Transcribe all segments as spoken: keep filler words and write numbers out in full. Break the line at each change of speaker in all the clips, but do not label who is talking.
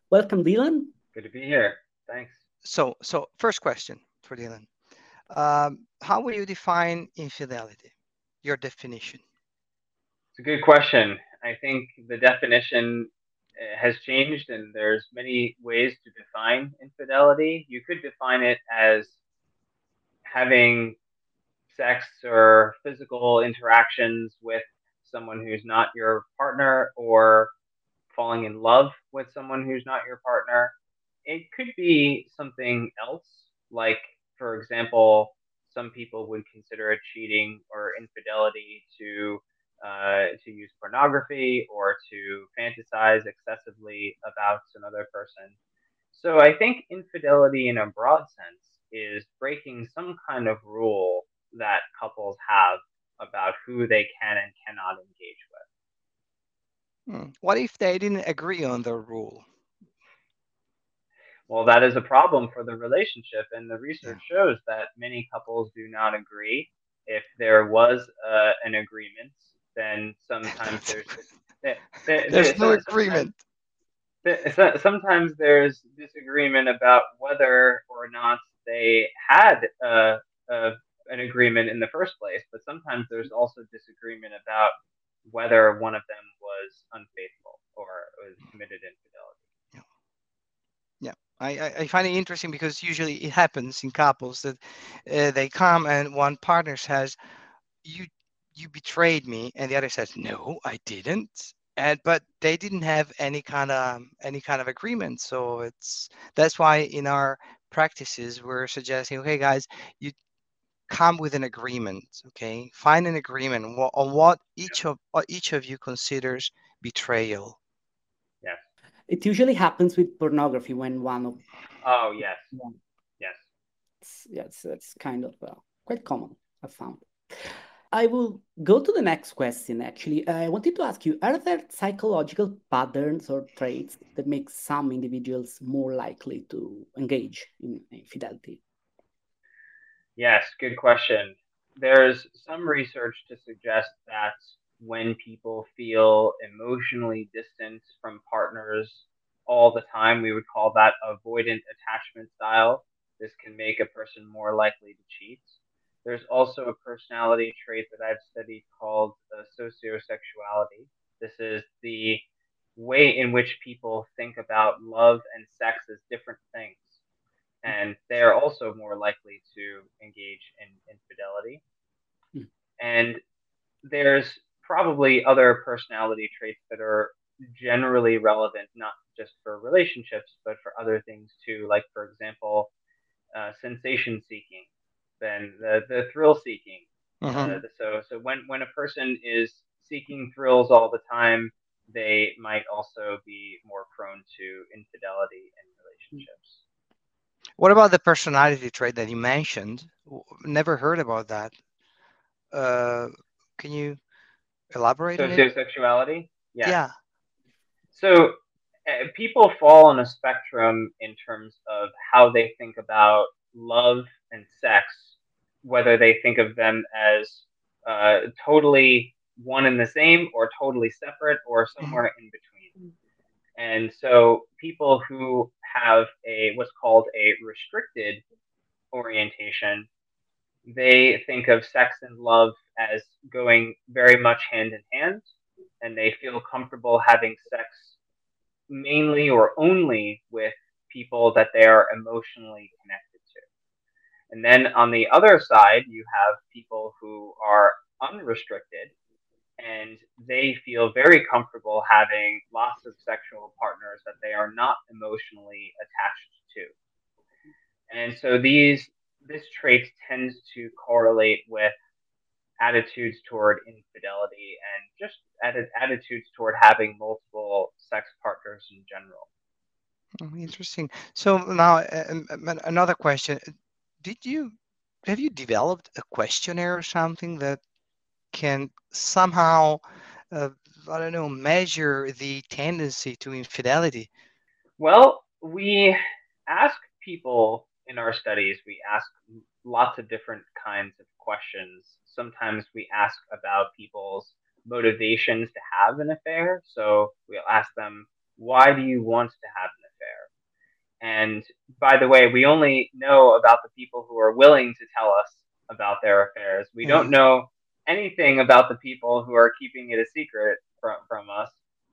Welcome, Dylan.
Good to be here. Thanks.
So, so first question for Dylan. Um, how would you define infidelity? Your definition.
It's a good question. I think the definition uh, has changed, and there's many ways to define infidelity. You could define it as having sex or physical interactions with someone who's not your partner, or falling in love with someone who's not your partner. It could be something else, like, for example, some people would consider it cheating or infidelity to uh, to use pornography or to fantasize excessively about another person. So I think infidelity in a broad sense is breaking some kind of rule that couples have about who they can and cannot engage with.
Hmm. What if they didn't agree on the rule?
Well, that is a problem for the relationship, and the
Yeah.
research shows that many couples do not agree. If there was uh, an agreement, then sometimes there's there, there,
There's
there,
no
so- sometimes
agreement.
there, so- sometimes there's disagreement about whether or not they had uh, uh, an agreement in the first place, but sometimes there's also disagreement about whether one of them was unfaithful or was committed infidelity.
Yeah. Yeah. I, I I find it interesting because usually it happens in couples that uh, they come and one partner says, you you betrayed me, and the other says, no, I didn't. And but they didn't have any kind of any kind of agreement. So it's that's why in our practices we're suggesting, okay, guys, you come with an agreement. Okay, find an agreement wha- on what each of what each of you considers betrayal.
Yes.
It usually happens with pornography when one of
Oh, yes.
one.
Yes.
Yes, that's kind of uh, quite common, I found. I will go to the next question. Actually, I wanted to ask you: are there psychological patterns or traits that make some individuals more likely to engage in infidelity?
Yes, good question. There's some research to suggest that when people feel emotionally distant from partners all the time, we would call that avoidant attachment style. This can make a person more likely to cheat. There's also a personality trait that I've studied called uh, sociosexuality. This is the way in which people think about love and sex as different things, and they are also more likely to engage in infidelity.
Mm.
And there's probably other personality traits that are generally relevant, not just for relationships, but for other things too. Like, for example, uh, sensation seeking, then the, the thrill seeking.
Mhm.
Uh, so, so when, when a person is seeking thrills all the time, they might also be more prone to infidelity in relationships.
What about the personality trait that you mentioned? W- Never heard about that. Uh, can you elaborate on it?
Sociosexuality, yes.
Yeah.
So uh, people fall on a spectrum in terms of how they think about love and sex, whether they think of them as uh, totally one and the same, or totally separate, or
Mhm.
somewhere in between. And so people who have a what's called a restricted orientation, they think of sex and love as going very much hand in hand, and they feel comfortable having sex mainly or only with people that they are emotionally connected to. And then on the other side, you have people who are unrestricted, and they feel very comfortable having lots of sexual partners that they are not emotionally attached to. And so these this trait tends to correlate with attitudes toward infidelity and just atti- attitudes toward having multiple sex partners in general.
Oh, interesting. So now, uh, um, um, an- another question. Did you have you developed a questionnaire or something that can somehow, uh, I don't know, measure the tendency to infidelity?
Well, we ask people in our studies, we ask lots of different kinds of questions. Sometimes we ask about people's motivations to have an affair. So we'll ask them, why do you want to have an affair? And by the way, we only know about the people who are willing to tell us about their affairs. We don't
Mm.
know anything about the people who are keeping it a secret from, from us.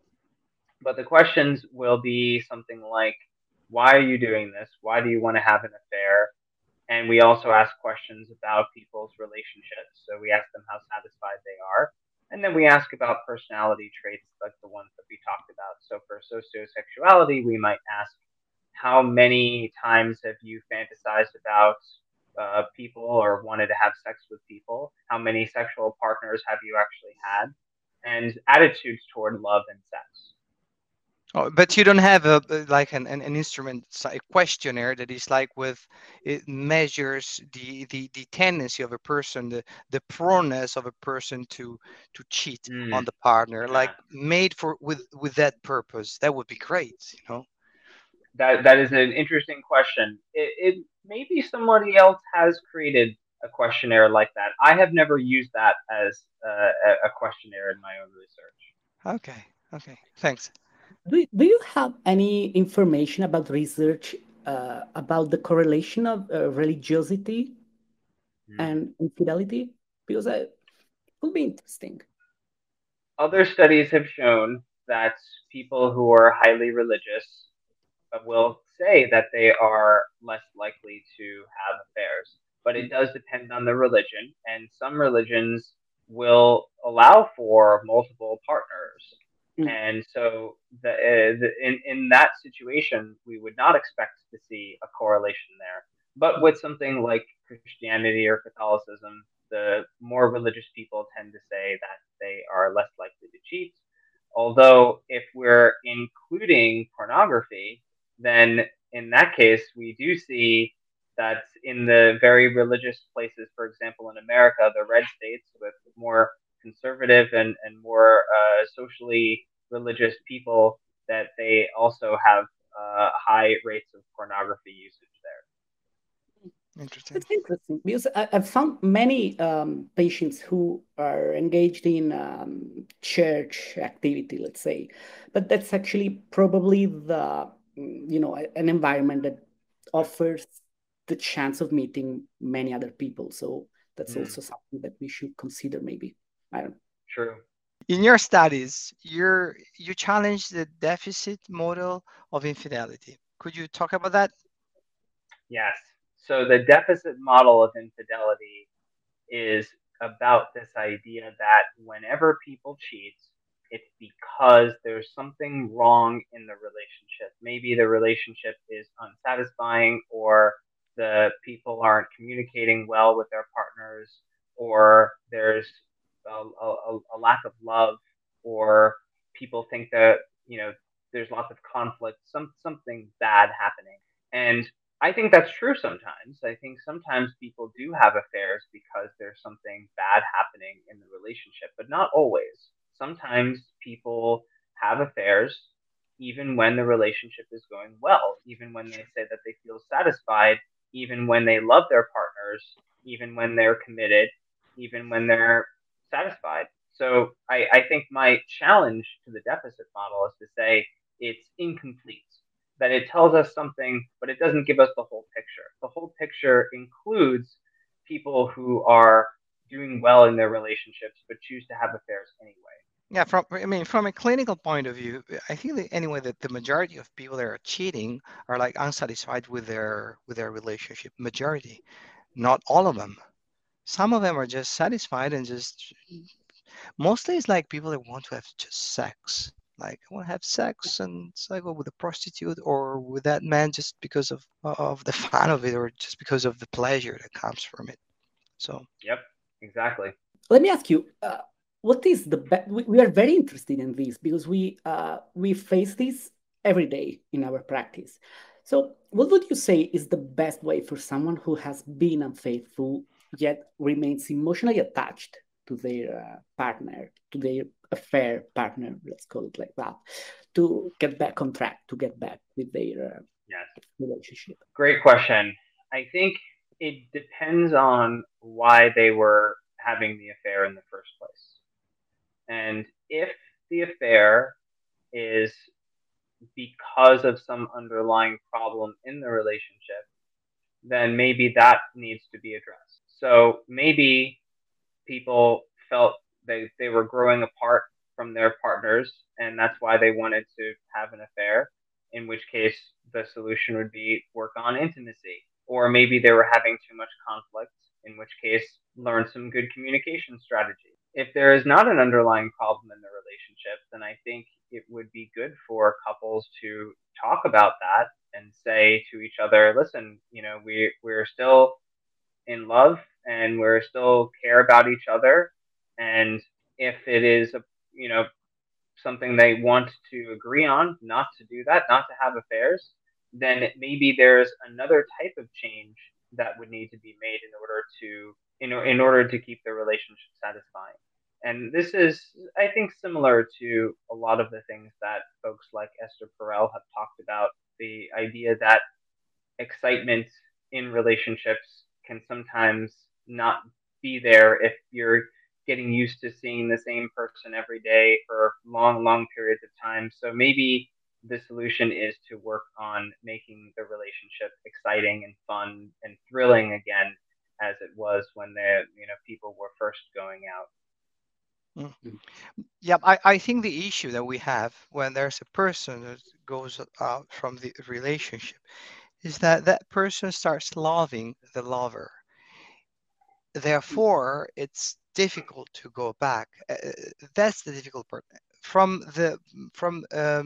But the questions will be something like, why are you doing this? Why do you want to have an affair? And we also ask questions about people's relationships. So we ask them how satisfied they are. And then we ask about personality traits like the ones that we talked about. So for sociosexuality, we might ask, how many times have you fantasized about uh, people or wanted to have sex with people? How many sexual partners have you actually had? And attitudes toward love and sex.
Oh, but you don't have a a- like an, an, an instrument, s- a questionnaire that is like with it measures the, the the tendency of a person, the the proneness of a person to to cheat on
Mm,
the partner, like
yeah.
made for with with that purpose. That would be great, you know.
That that is an interesting question. It, it maybe somebody else has created a questionnaire like that. I have never used that as uh, a, a questionnaire in my own research.
Okay, okay, thanks.
Do, do you have any information about research uh, about the correlation of uh, religiosity
Hmm.
and infidelity? Because I, it would be interesting.
Other studies have shown that people who are highly religious uh, will say that they are less likely to have affairs. But it does depend on the religion, and some religions will allow for multiple partners.
Mm.
And so, the, uh, the, in in that situation, we would not expect to see a correlation there. But with something like Christianity or Catholicism, the more religious people tend to say that they are less likely to cheat. Although, if we're including pornography, then in that case, we do see that in the very religious places, for example, in America, the red states with more conservative and, and more uh, socially religious people, that they also have uh, high rates of pornography usage there.
Interesting.
That's interesting because I, I've found many um, patients who are engaged in um, church activity, let's say, but that's actually probably the, mm, you know, a- an environment that offers the chance of meeting many other people. So that's
Mm,
also something that we should consider, maybe. I don't know.
true.
In your studies, you're you challenge the deficit model of infidelity. Could you talk about that?
Yes. So the deficit model of infidelity is about this idea that whenever people cheat, it's because there's something wrong in the relationship. Maybe the relationship is unsatisfying, or the people aren't communicating well with their partners, or there's a, a, a lack of love, or people think that, you know, there's lots of conflict, some something bad happening. And I think that's true sometimes. I think sometimes people do have affairs because there's something bad happening in the relationship, but not always. Sometimes people have affairs even when the relationship is going well, even when they say that they feel satisfied, even when they love their partners, even when they're committed, even when they're satisfied. So I, I think my challenge to the deficit model is to say it's incomplete, that it tells us something, but it doesn't give us the whole picture. The whole picture includes people who are doing well in their relationships but choose to have affairs anyway.
Yeah, from I mean, from a clinical point of view, I think that anyway that the majority of people that are cheating are like unsatisfied with their with their relationship. Majority, not all of them. Some of them are just satisfied and just mostly it's like people that want to have just sex. Like I want to have sex and so I go with a prostitute or with that man just because of of the fun of it or just because of the pleasure that comes from it. So
Yep, exactly.
Let me ask you, uh, what is the best? We, we are very interested in this because we uh, we face this every day in our practice. So, what would you say is the best way for someone who has been unfaithful yet remains emotionally attached to their uh, partner, to their affair partner, let's call it like that, to get back on track, to get back with their uh,
Yes.
relationship?
Great question. I think it depends on why they were having the affair in the first place. And if the affair is because of some underlying problem in the relationship, then maybe that needs to be addressed. So maybe people felt they, they were growing apart from their partners, and that's why they wanted to have an affair, in which case the solution would be work on intimacy. Or maybe they were having too much conflict, in which case learn some good communication strategies. If there is not an underlying problem in the relationship, then I think it would be good for couples to talk about that and say to each other, listen, you know, we, we're still in love and we're still care about each other. And if it is, a, you know, something they want to agree on, not to do that, not to have affairs, then maybe there's another type of change that would need to be made in order to, in, in order to keep the relationship satisfying. And this is, I think, similar to a lot of the things that folks like Esther Perel have talked about, the idea that excitement in relationships can sometimes not be there if you're getting used to seeing the same person every day for long, long periods of time. So maybe the solution is to work on making the relationship exciting and fun and thrilling again, as it was when the you know people were first going out.
Mm. Yeah, I, I think the issue that we have when there's a person that goes out from the relationship is that that person starts loving the lover. Therefore, it's difficult to go back. Uh, that's the difficult part. From the from um,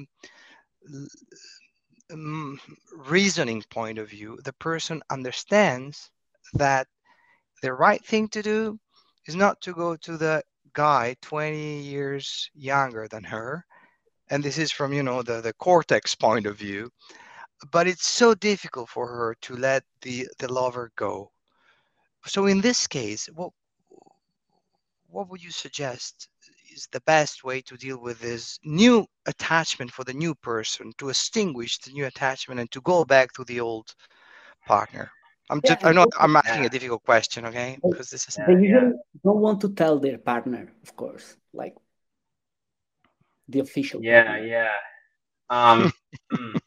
um, reasoning point of view, the person understands that the right thing to do is not to go to the guy twenty years younger than her, and this is from you know the the cortex point of view, but it's so difficult for her to let the the lover go. So in this case, what what would you suggest is the best way to deal with this new attachment for the new person, to extinguish the new attachment and to go back to the old partner? I'm
Yeah,
just I
and
know
also,
I'm asking
Yeah,
a difficult question, okay?
they,
Because this is
they
yeah, yeah,
usually don't want to tell their partner, of course, like the official
yeah,
partner.
yeah. Um, hmm.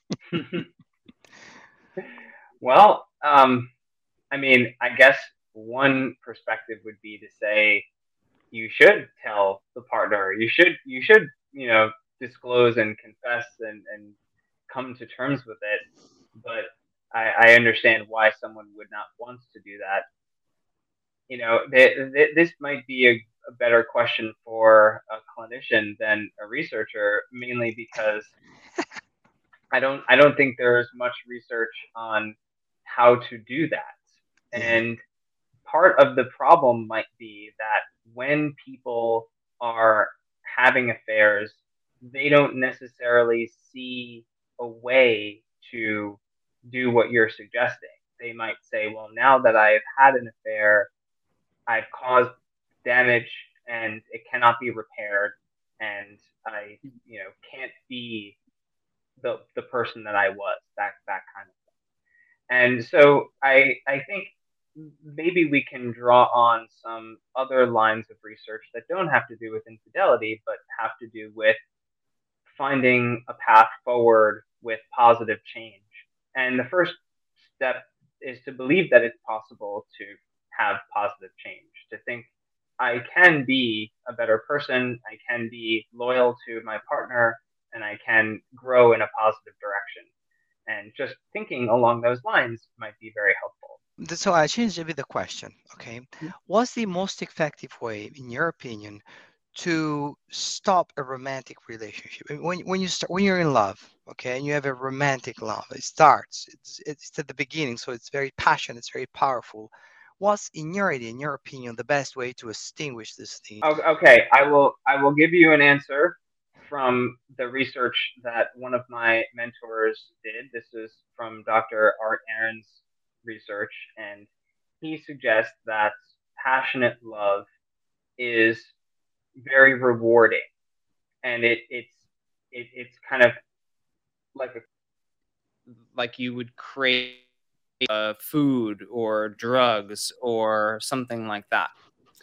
Well, um, I mean, I guess one perspective would be to say you should tell the partner. You should you should you know disclose and confess and and come to terms with it. But I, I understand why someone would not want to do that. You know, th- th- this might be a, a better question for a clinician than a researcher, mainly because I don't I don't think there is much research on how to do that.
yeah.
And part of the problem might be that when people are having affairs, they don't necessarily see a way to do what you're suggesting. They might say, well, now that I've had an affair, I've caused damage and it cannot be repaired, and I, you know, can't be the the person that I was, that that kind of thing. And so I I think maybe we can draw on some other lines of research that don't have to do with infidelity, but have to do with finding a path forward with positive change. And the first step is to believe that it's possible to have positive change, to think I can be a better person, I can be loyal to my partner, and I can grow in a positive direction. And just thinking along those lines might be very helpful.
So I changed a bit the question. Okay,
Mm.
what's the most effective way, in your opinion, to stop a romantic relationship? I mean, When when you start when you're in love, okay, and you have a romantic love, it starts. It's it's at the beginning, so it's very passionate, it's very powerful. What's in your idea, in your opinion, the best way to extinguish this thing?
Okay, I will I will give you an answer from the research that one of my mentors did. This is from Doctor Art Aaron's research, and he suggests that passionate love is very rewarding, and it it's it, it's kind of like a like you would crave uh, food or drugs or something like that.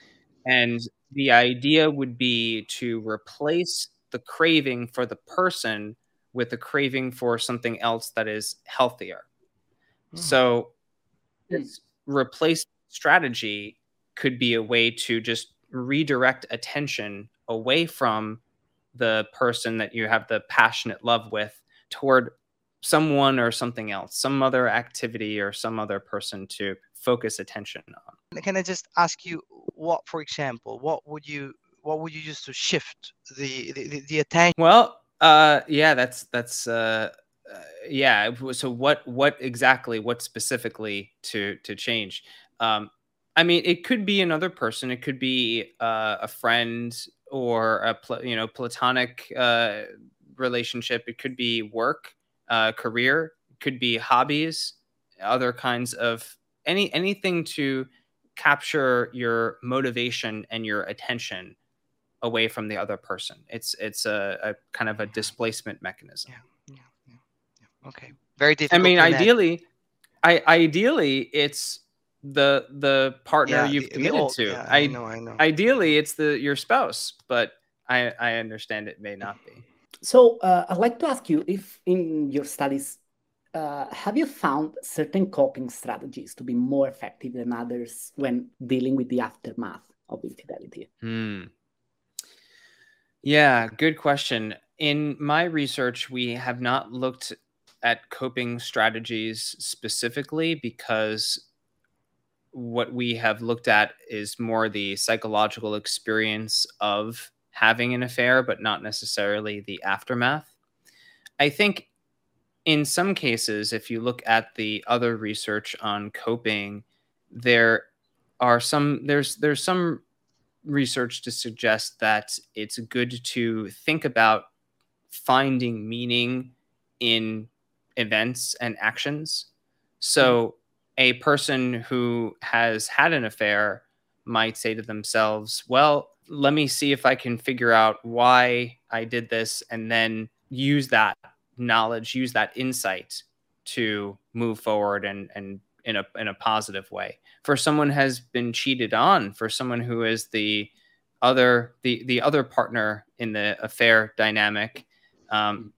And the idea would be to replace the craving for the person
with a craving for something else that is healthier.
Mm.
So this replacement strategy could be a way to just redirect attention away from the person that you have the passionate love with toward someone or something else, some other activity or some other person to focus attention on.
Can I just ask you what, for example, what would you what would you use to shift the the, the attention?
Well, uh, yeah, that's that's uh, uh, yeah. So what what exactly what specifically to to change? Um, I mean, it could be another person. It could be uh, a friend or a pl- you know platonic uh, relationship. It could be work, uh, career. It could be hobbies, other kinds of any anything to capture your motivation and your attention away from the other person. It's it's a, a kind of a displacement mechanism.
Yeah, yeah, yeah, yeah. Okay, very
I
difficult.
mean,
to imagine.
ideally, I ideally it's the the partner
Yeah,
you've
the- the
committed
old-
to.
yeah,
I,
I know, I know.
Ideally, it's the your spouse, but I I understand it may not be.
So uh, I'd like to ask you if in your studies, uh, have you found certain coping strategies to be more effective than others when dealing with the aftermath of infidelity?
Hmm. Yeah, good question. In my research, we have not looked at coping strategies specifically because what we have looked at is more the psychological experience of having an affair, but not necessarily the aftermath. I think in some cases, if you look at the other research on coping, there are some there's there's some research to suggest that it's good to think about finding meaning in events and actions. So a person who has had an affair might say to themselves, well, let me see if I can figure out why I did this, and then use that knowledge, use that insight to move forward and and in a in a positive way. For someone has been cheated on, for someone who is the other the the other partner in the affair dynamic, um,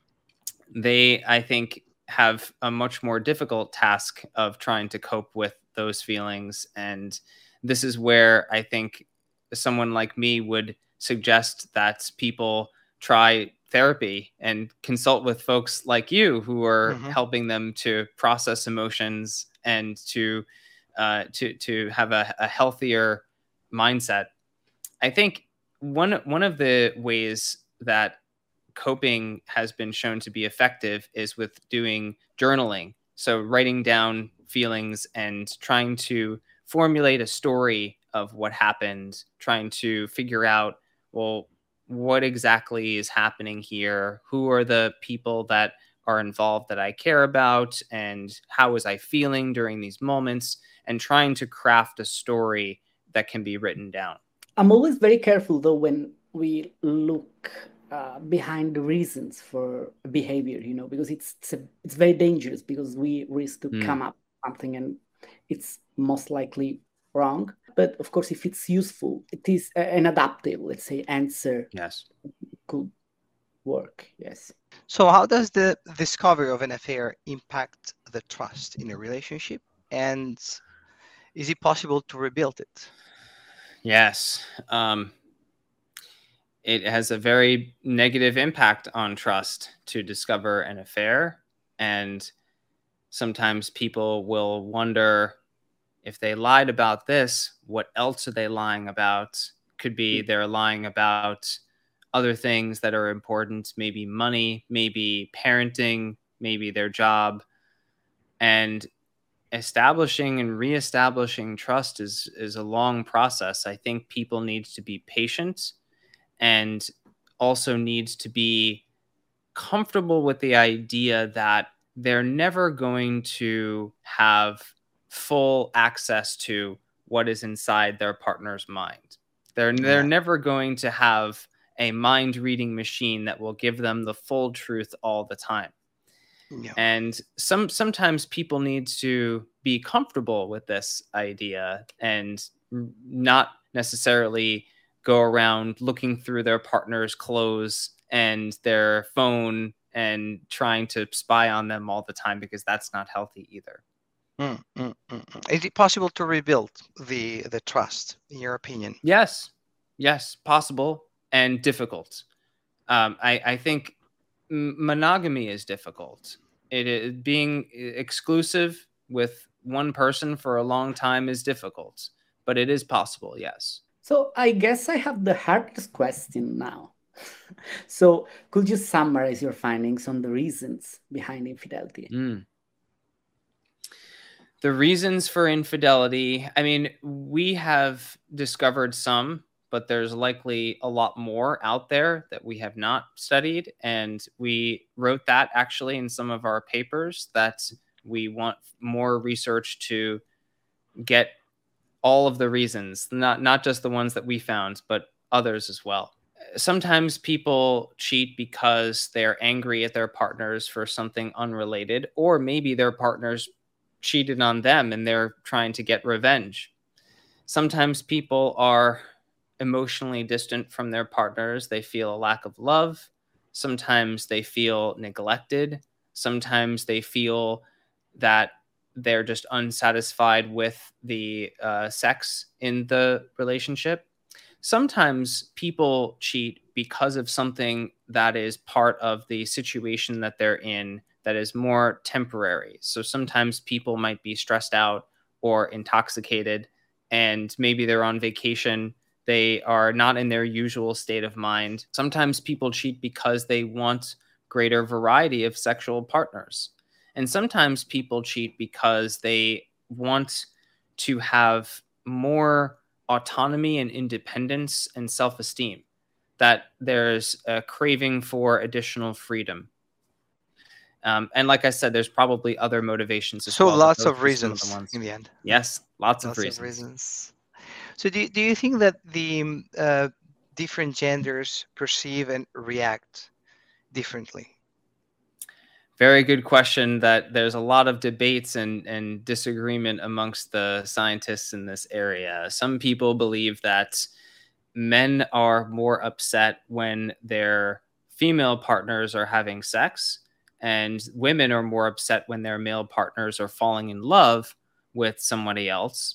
they I think have a much more difficult task of trying to cope with those feelings. And this is where I think someone like me would suggest that people try therapy and consult with folks like you who are
Mhm.
helping them to process emotions and to uh, to to have a, a healthier mindset. I think one one of the ways that coping has been shown to be effective is with doing journaling. So writing down feelings and trying to formulate a story of what happened, trying to figure out, well, what exactly is happening here? Who are the people that are involved that I care about? And how was I feeling during these moments? And trying to craft a story that can be written down.
I'm always very careful though when we look uh, behind the reasons for behavior, you know, because it's it's, a, it's very dangerous because we risk to
Mm.
come up with something and it's most likely wrong. But of course, if it's useful, it is a- an adaptive, let's say, answer
Yes.
could work. Yes.
So, how does the discovery of an affair impact the trust in a relationship? And is it possible to rebuild it?
Yes. Um, it has a very negative impact on trust to discover an affair. And sometimes people will wonder, if they lied about this, what else are they lying about? Could be they're lying about other things that are important, maybe money, maybe parenting, maybe their job. And establishing and reestablishing trust is is a long process. I think people need to be patient and also needs to be comfortable with the idea that they're never going to have full access to what is inside their partner's mind. They're they're
Yeah.
never going to have a mind reading machine that will give them the full truth all the time.
Yeah.
And some sometimes people need to be comfortable with this idea and not necessarily go around looking through their partner's clothes and their phone and trying to spy on them all the time, because that's not healthy either.
Mm, mm, mm, mm. Is it possible to rebuild the the trust, in your opinion?
Yes, yes, possible and difficult. Um, I, I think monogamy is difficult. It is, being exclusive with one person for a long time is difficult, but it is possible, yes.
So I guess I have the hardest question now. So could you summarize your findings on the reasons behind infidelity?
Mm. The reasons for infidelity, I mean, we have discovered some, but there's likely a lot more out there that we have not studied. And we wrote that actually in some of our papers, that we want more research to get all of the reasons, not, not just the ones that we found, but others as well. Sometimes people cheat because they're angry at their partners for something unrelated, or maybe their partners cheated on them and they're trying to get revenge. Sometimes people are emotionally distant from their partners. They feel a lack of love. Sometimes they feel neglected. Sometimes they feel that they're just unsatisfied with the uh, sex in the relationship. Sometimes people cheat because of something that is part of the situation that they're in that is more temporary. So sometimes people might be stressed out or intoxicated, and maybe they're on vacation. They are not in their usual state of mind. Sometimes people cheat because they want greater variety of sexual partners. And sometimes people cheat because they want to have more autonomy and independence and self-esteem, that there's a craving for additional freedom. Um, and like I said, there's probably other motivations as
so
well.
So lots of reasons of in the end.
Yes, lots,
lots
of, reasons.
of reasons. So do, do you think that the uh, different genders perceive and react differently?
Very good question. That there's a lot of debates and, and disagreement amongst the scientists in this area. Some people believe that men are more upset when their female partners are having sex, and women are more upset when their male partners are falling in love with somebody else.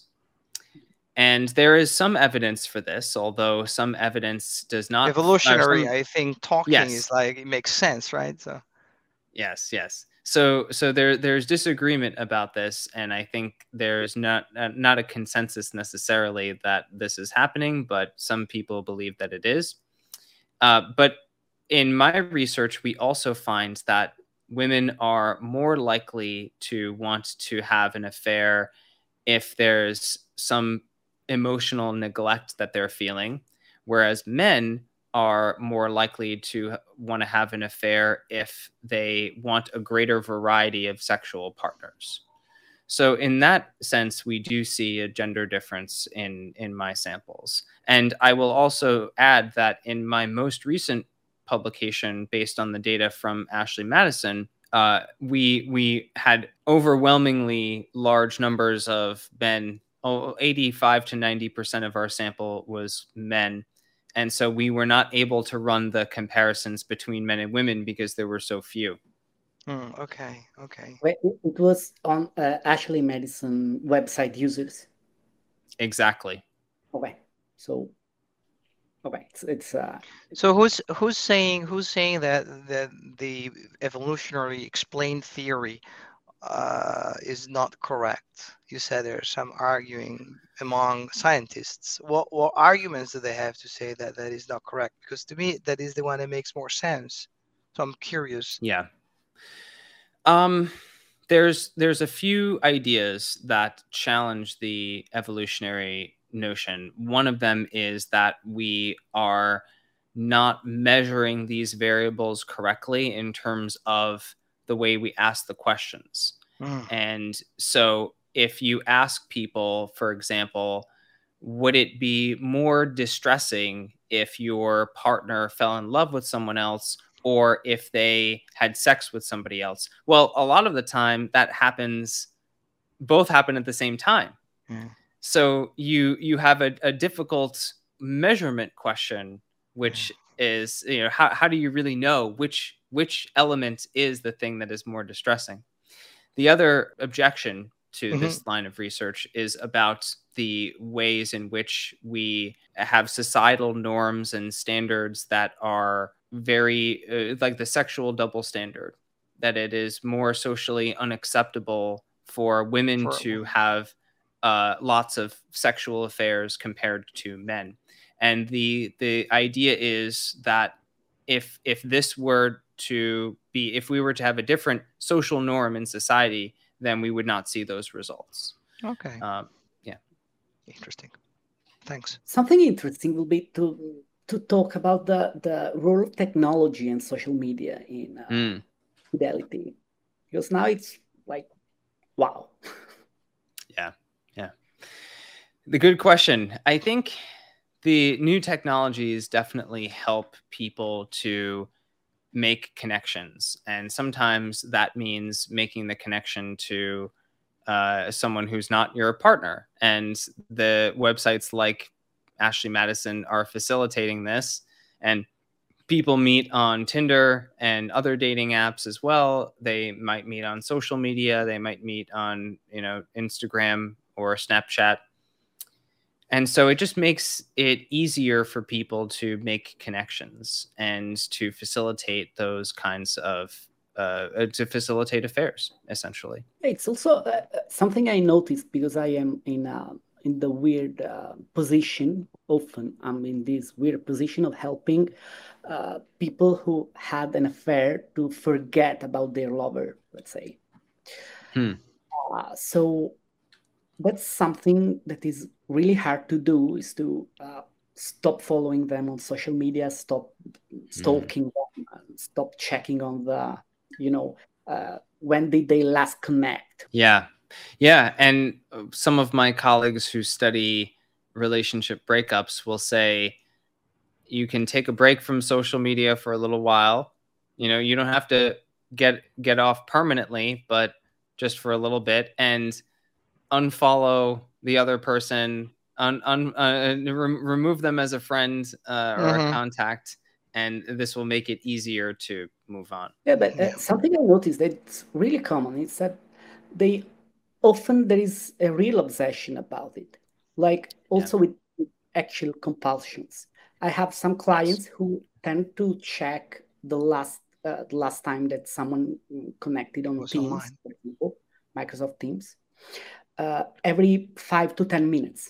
And there is some evidence for this, although some evidence does not.
Evolutionary,
some,
I think talking yes. is like, it makes sense, right? So
yes, yes. So so there there's disagreement about this, and I think there's not not a consensus necessarily that this is happening, but some people believe that it is. Uh, but in my research, we also find that women are more likely to want to have an affair if there's some emotional neglect that they're feeling, whereas men are more likely to want to have an affair if they want a greater variety of sexual partners. So in that sense, we do see a gender difference in, in my samples. And I will also add that in my most recent publication, based on the data from Ashley Madison, uh, we, we had overwhelmingly large numbers of men. Oh, eighty-five to ninety percent of our sample was men. And so we were not able to run the comparisons between men and women because there were so few.
Mm, okay, okay.
Wait, it was on uh, Ashley Madison website users.
Exactly.
Okay, so okay, it's, it's uh.
So who's who's saying who's saying that that the evolutionary explained theory uh, is not correct? You said there's some arguing among scientists. What what arguments do they have to say that that is not correct? Because to me, that is the one that makes more sense. So I'm curious.
Yeah. Um, there's there's a few ideas that challenge the evolutionary notion. One of them is that we are not measuring these variables correctly in terms of the way we ask the questions. Mm. And so if you ask people, for example, would it be more distressing if your partner fell in love with someone else, or if they had sex with somebody else? Well, a lot of the time that happens, both happen at the same time. Mm. So you you have a, a difficult measurement question, which is, you know, how, how do you really know which which element is the thing that is more distressing? The other objection to
Mhm.
this line of research is about the ways in which we have societal norms and standards that are very uh, like the sexual double standard, that it is more socially unacceptable for women
For
to
women.
have uh, lots of sexual affairs compared to men. And the the idea is that if if this were to be, if we were to have a different social norm in society, then we would not see those results.
Okay.
Um, yeah.
Interesting. Thanks.
Something interesting will be to to talk about the the role of technology and social media in uh,
Mm.
fidelity, because now it's like, wow.
Yeah. Yeah. The good question. I think the new technologies definitely help people to make connections. And sometimes that means making the connection to uh, someone who's not your partner. And the websites like Ashley Madison are facilitating this. And people meet on Tinder and other dating apps as well. They might meet on social media. They might meet on, you know, Instagram or Snapchat. And so it just makes it easier for people to make connections and to facilitate those kinds of, uh, to facilitate affairs, essentially.
It's also uh, something I noticed, because I am in a, in the weird uh, position. Often I'm in this weird position of helping uh, people who had an affair to forget about their lover, let's say.
Hmm.
Uh, so that's something that is really hard to do, is to uh, stop following them on social media, stop stalking them, and stop checking on the, you know, uh, when did they last connect.
Yeah. Yeah. And uh, some of my colleagues who study relationship breakups will say you can take a break from social media for a little while. You know, you don't have to get get off permanently, but just for a little bit, and unfollow the other person, un, un, uh, re- remove them as a friend uh, or
Mhm.
a contact, and this will make it easier to move on.
Yeah, but uh,
Yeah.
something I noticed that's really common is that they often there is a real obsession about it, like also with with actual compulsions. I have some clients who tend to check the last uh, the last time that someone mm, connected on
Was
Teams,
online.
for example, Microsoft Teams, uh, every five to ten minutes,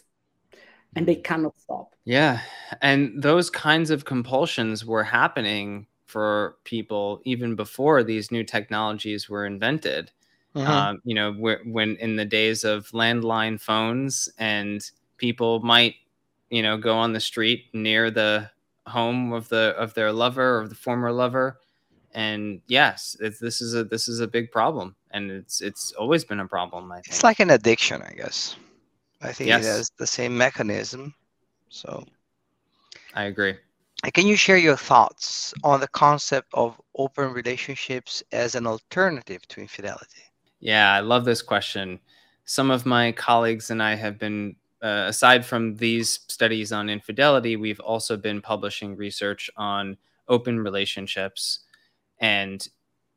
and they cannot stop.
Yeah. And those kinds of compulsions were happening for people even before these new technologies were invented.
Mhm.
Um, you know, wh- when in the days of landline phones, and people might, you know, go on the street near the home of the of their lover or the former lover. And yes, it's, this is a this is a big problem, and it's it's always been a problem, I
It's
think.
like an addiction, I guess. I think it
Yes,
has the same mechanism. So,
I agree.
uh, can you share your thoughts on the concept of open relationships as an alternative to infidelity?
Yeah, I love this question. Some of my colleagues and I have been, uh, aside from these studies on infidelity, we've also been publishing research on open relationships. And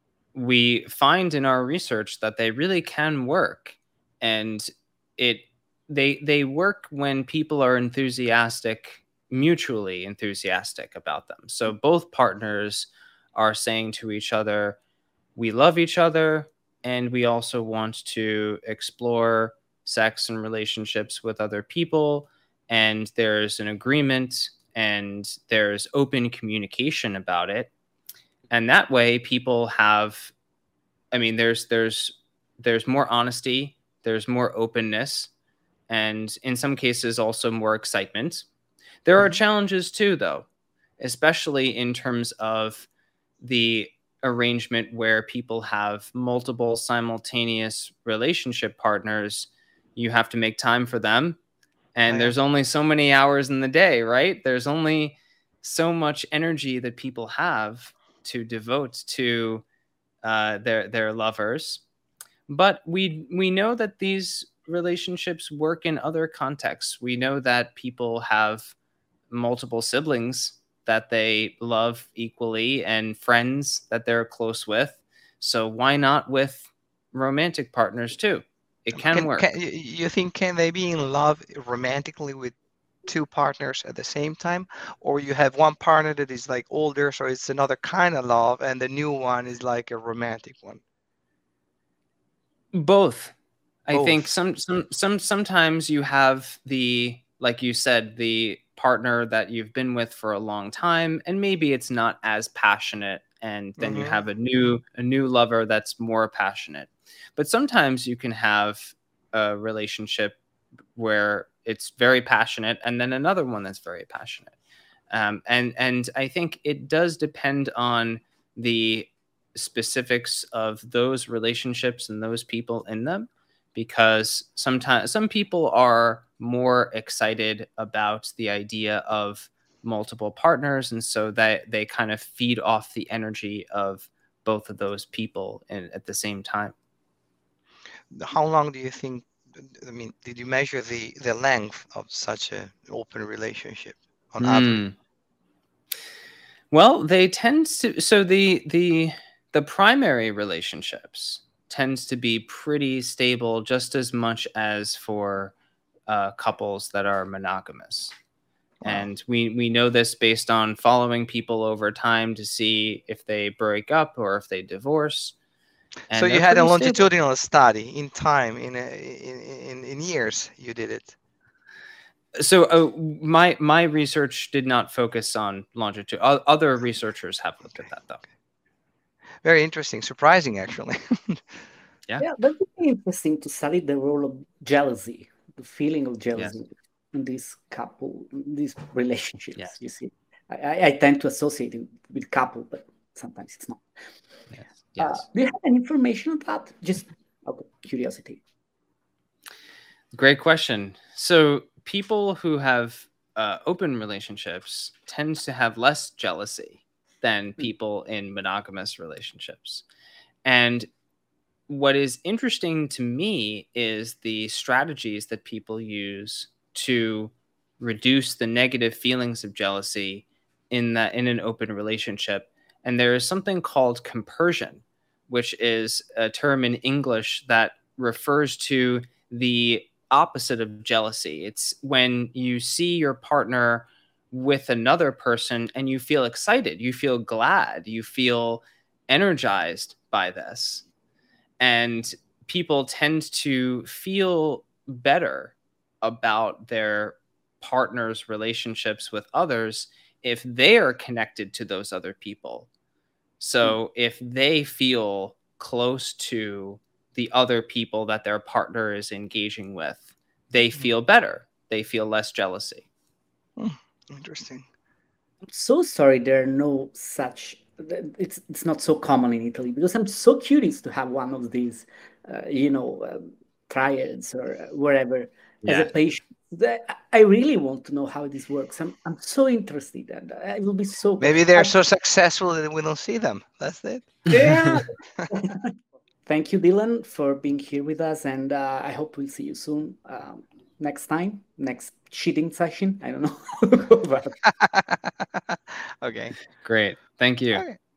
we find in our research that they really can work. And it they they work when people are enthusiastic, mutually enthusiastic about them. So both partners are saying to each other, we love each other, and we also want to explore sex and relationships with other people, and there's an agreement and there's open communication about it. And that way people have, I mean, there's there's there's more honesty, there's more openness, and in some cases also more excitement. There are
Mhm.
challenges too, though, especially in terms of the arrangement where people have multiple simultaneous relationship partners. You have to make time for them,
Oh,
and
yeah.
there's only so many hours in the day, right? There's only so much energy that people have to devote to uh, their their lovers. But we we know that these relationships work in other contexts. We know that people have multiple siblings that they love equally and friends that they're close with. So why not with romantic partners too? It can,
Can,
work.
can, you think, can they be in love romantically with two partners at the same time? Or you have one partner that is like older, so it's another kind of love, and the new one is like a romantic one?
Both. I
Both.
think some, some, some, sometimes you have the, like you said, the partner that you've been with for a long time, and maybe it's not as passionate, and then
Mm-hmm.
you have a new, a new lover that's more passionate. But sometimes you can have a relationship where it's very passionate, and then another one that's very passionate. Um, and, and I think it does depend on the specifics of those relationships and those people in them, because sometimes some people are more excited about the idea of multiple partners, and so that they kind of feed off the energy of both of those people in, at the same time.
How long do you think, I mean, did you measure the, the length of such an open relationship on
Mm.
average?
Well, they tend to, so the, the, the primary relationships tends to be pretty stable, just as much as for uh, couples that are monogamous. Wow. And we, we know this based on following people over time to see if they break up or if they divorce.
And so you had a longitudinal stable. study in time, in, a, in, in, in years you did it.
So uh, my my research did not focus on longitude. Other researchers have looked at that, though.
Very interesting, surprising, actually.
yeah, yeah, that would be interesting to study the role of jealousy, the feeling of jealousy yes. in this couple, in these relationships. Yes. You see, I, I tend to associate it with couple, but sometimes it's not.
Yes. Yes.
Uh, do you have any information on that? Just out of curiosity.
Great question. So people who have uh, open relationships tend to have less jealousy than people in monogamous relationships. And what is interesting to me is the strategies that people use to reduce the negative feelings of jealousy in that in an open relationship. And there is something called compersion, which is a term in English that refers to the opposite of jealousy. It's when you see your partner with another person and you feel excited, you feel glad, you feel energized by this. And people tend to feel better about their partner's relationships with others if they are connected to those other people. So if they feel close to the other people that their partner is engaging with, they feel better. They feel less jealousy.
Hmm, interesting.
I'm so sorry there are no such, it's it's not so common in Italy, because I'm so curious to have one of these, uh, you know, um, triads or wherever yeah. as a patient. I really want to know how this works. I'm I'm so interested, and I will be so.
Maybe they're
I'm,
so successful that we don't see them. That's it.
Yeah. Thank you, Dylan, for being here with us, and uh, I hope we'll see you soon. Um, next time, next cheating session. I don't know.
Okay.
Great. Thank you.
Okay.